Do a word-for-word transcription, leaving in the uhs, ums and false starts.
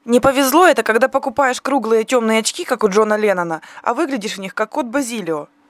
Не повезло это, когда покупаешь круглые темные очки, как у Джона Леннона, а выглядишь в них как кот Базилио.